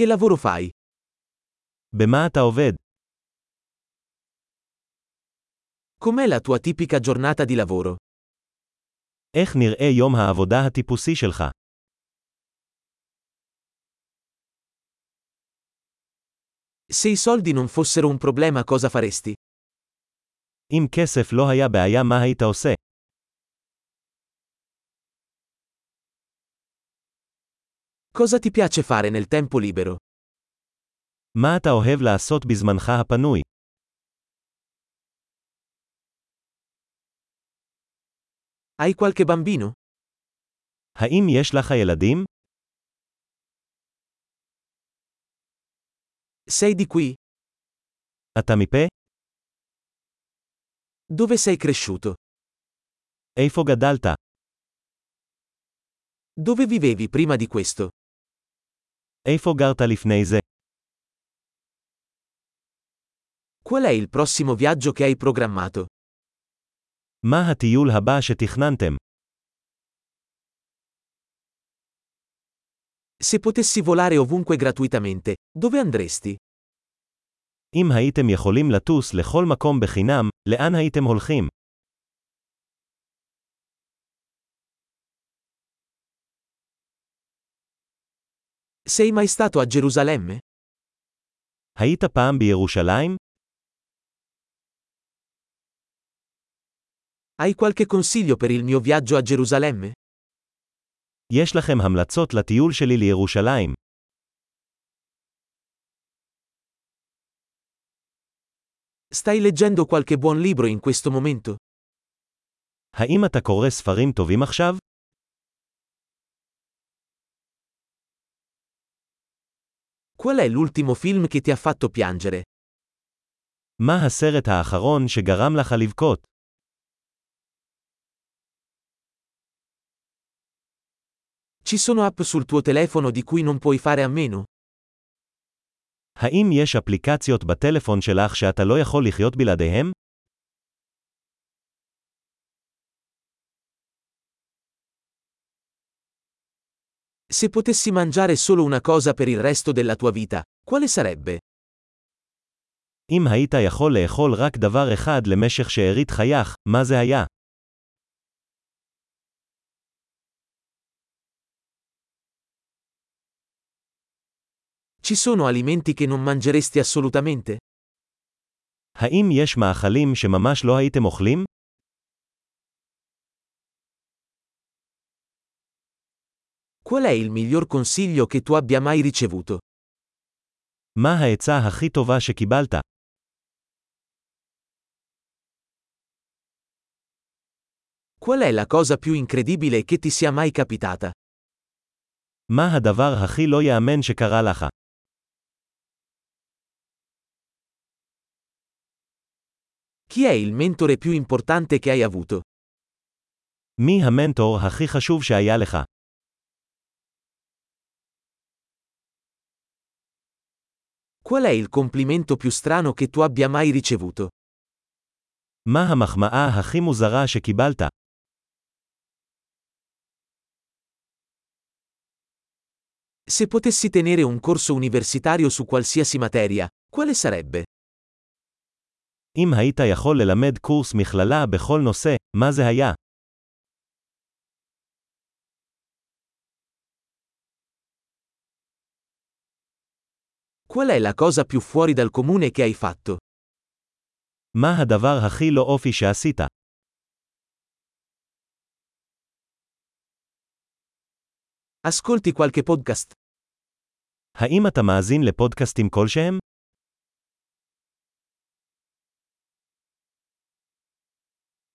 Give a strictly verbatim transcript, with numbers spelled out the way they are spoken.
Che lavoro fai? במה אתה עובד? Com'è la tua tipica giornata di lavoro? איך נראה יום העבודה הטיפוסי שלך? Se i soldi non fossero un problema, cosa faresti? אם כסף לא היה בעיה, מה היית עושה? Cosa ti piace fare nel tempo libero? מה אתה אוהב לעשות בזמנך הפנוי? Hai qualche bambino? האם יש לך ילדים? Sei di qui? אתה מפה? Dove sei cresciuto? איפה גדלת? Dove vivevi prima di questo? איפה גרת לפני זה? Qual è il prossimo viaggio che hai programmato? מה הטיול הבא שתכננתם? Se potessi volare ovunque gratuitamente, dove andresti? אם הייתם יכולים לטוס לכל מקום בחינם, לאן הייתם הולכים? Sei mai stato a Gerusalemme? היית פעם בירושלים? Hai qualche consiglio per il mio viaggio a Gerusalemme? יש לכם המלצות לטיול שלי לירושלים. Stai leggendo qualche buon libro in questo momento? האם אתה קורא ספרים טובים עכשיו? Qual è l'ultimo film che ti ha fatto piangere? מה הסרט האחרון שגרם לך לבכות? Ci sono app sul tuo telefono di cui non puoi fare a meno? האם יש אפליקציות בטלפון שלך שאתה לא יכול לחיות בלעדיהם? Se potessi mangiare solo una cosa per il resto della tua vita, quale sarebbe? אם היית יכול לאכול רק דבר אחד למשך שארית חייך, מה זה היה? Ci sono alimenti che non mangeresti assolutamente? האם יש מאכלים שממש לא הייתם אוכלים? Qual è il miglior consiglio che tu abbia mai ricevuto? מה העצה הכי טובה שקיבלת? Qual è la cosa più incredibile che ti sia mai capitata? מה הדבר הכי לא יאמן שקרה לך? Chi è il mentore più importante che hai avuto? מי המנטור הכי חשוב שהיה לך? Qual è il complimento più strano che tu abbia mai ricevuto? מה המחמאה הכי מוזרה שקיבלת? Se potessi tenere un corso universitario su qualsiasi materia, quale sarebbe? אם היית יכול ללמד קורס מכללה בכל נושא, מה זה היה? Qual è la cosa più fuori dal comune che hai fatto? מה הדבר הכי לא אופי שעשית? Ascolti qualche podcast? האם אתה מאזין לפודקאסטים כלשהם?